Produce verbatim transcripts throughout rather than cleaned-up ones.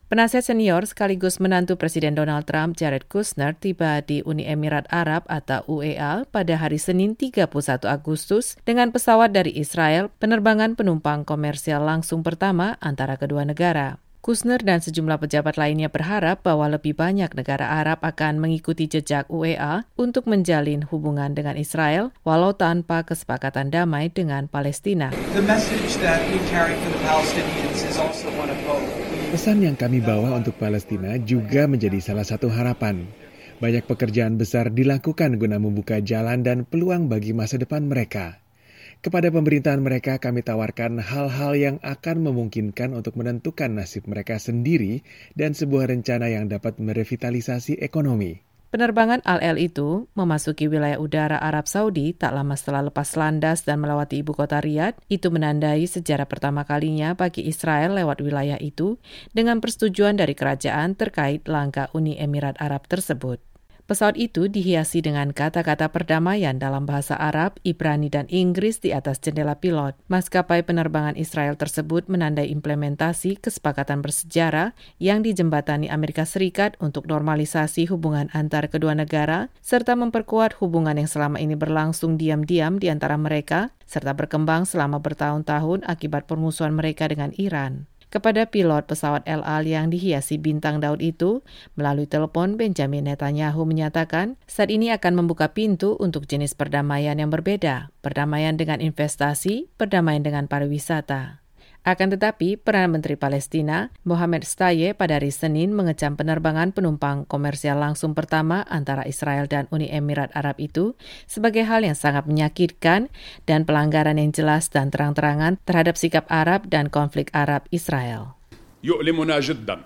Penasihat senior sekaligus menantu Presiden Donald Trump, Jared Kushner, tiba di Uni Emirat Arab atau U A E pada hari Senin tiga puluh satu Agustus dengan pesawat dari Israel, penerbangan penumpang komersial langsung pertama antara kedua negara. Kushner dan sejumlah pejabat lainnya berharap bahwa lebih banyak negara Arab akan mengikuti jejak U A E untuk menjalin hubungan dengan Israel, walau tanpa kesepakatan damai dengan Palestina. The message that we carry for the Palestinians is also one of hope. Pesan yang kami bawa untuk Palestina juga menjadi salah satu harapan. Banyak pekerjaan besar dilakukan guna membuka jalan dan peluang bagi masa depan mereka. Kepada pemerintahan mereka kami tawarkan hal-hal yang akan memungkinkan untuk menentukan nasib mereka sendiri dan sebuah rencana yang dapat merevitalisasi ekonomi. Penerbangan Al-El itu memasuki wilayah udara Arab Saudi tak lama setelah lepas landas dan melewati ibu kota Riyadh. Itu menandai sejarah pertama kalinya bagi Israel lewat wilayah itu dengan persetujuan dari kerajaan terkait langkah Uni Emirat Arab tersebut. Pesawat itu dihiasi dengan kata-kata perdamaian dalam bahasa Arab, Ibrani, dan Inggris di atas jendela pilot. Maskapai penerbangan Israel tersebut menandai implementasi kesepakatan bersejarah yang dijembatani Amerika Serikat untuk normalisasi hubungan antar kedua negara, serta memperkuat hubungan yang selama ini berlangsung diam-diam di antara mereka, serta berkembang selama bertahun-tahun akibat permusuhan mereka dengan Iran. Kepada pilot pesawat El Al yang dihiasi bintang Daud itu, melalui telepon Benjamin Netanyahu menyatakan saat ini akan membuka pintu untuk jenis perdamaian yang berbeda, perdamaian dengan investasi, perdamaian dengan pariwisata. Akan tetapi, Perdana Menteri Palestina, Mohammed Shtayyeh, pada hari Senin mengecam penerbangan penumpang komersial langsung pertama antara Israel dan Uni Emirat Arab itu sebagai hal yang sangat menyakitkan dan pelanggaran yang jelas dan terang-terangan terhadap sikap Arab dan konflik Arab-Israel. يؤلمنا جدا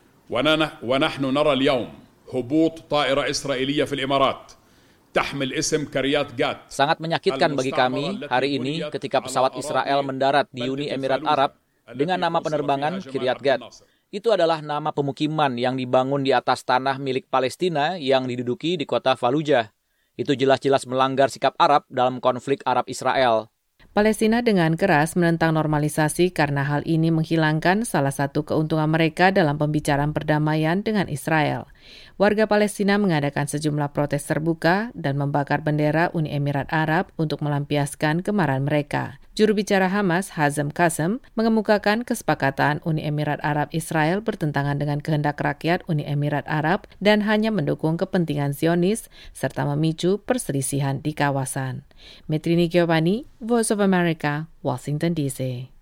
ونحن نرى اليوم هبوط طائرة إسرائيلية في الإمارات. Sangat menyakitkan bagi kami hari ini ketika pesawat Israel mendarat di Uni Emirat Arab dengan nama penerbangan Kiryat Gat. Itu adalah nama pemukiman yang dibangun di atas tanah milik Palestina yang diduduki di kota Fallujah. Itu jelas-jelas melanggar sikap Arab dalam konflik Arab-Israel. Palestina dengan keras menentang normalisasi karena hal ini menghilangkan salah satu keuntungan mereka dalam pembicaraan perdamaian dengan Israel. Warga Palestina mengadakan sejumlah protes terbuka dan membakar bendera Uni Emirat Arab untuk melampiaskan kemarahan mereka. Juru bicara Hamas, Hazem Qassem, mengemukakan kesepakatan Uni Emirat Arab Israel bertentangan dengan kehendak rakyat Uni Emirat Arab dan hanya mendukung kepentingan Zionis serta memicu perselisihan di kawasan. Metrini Giovanni, Voice of America, Washington D C.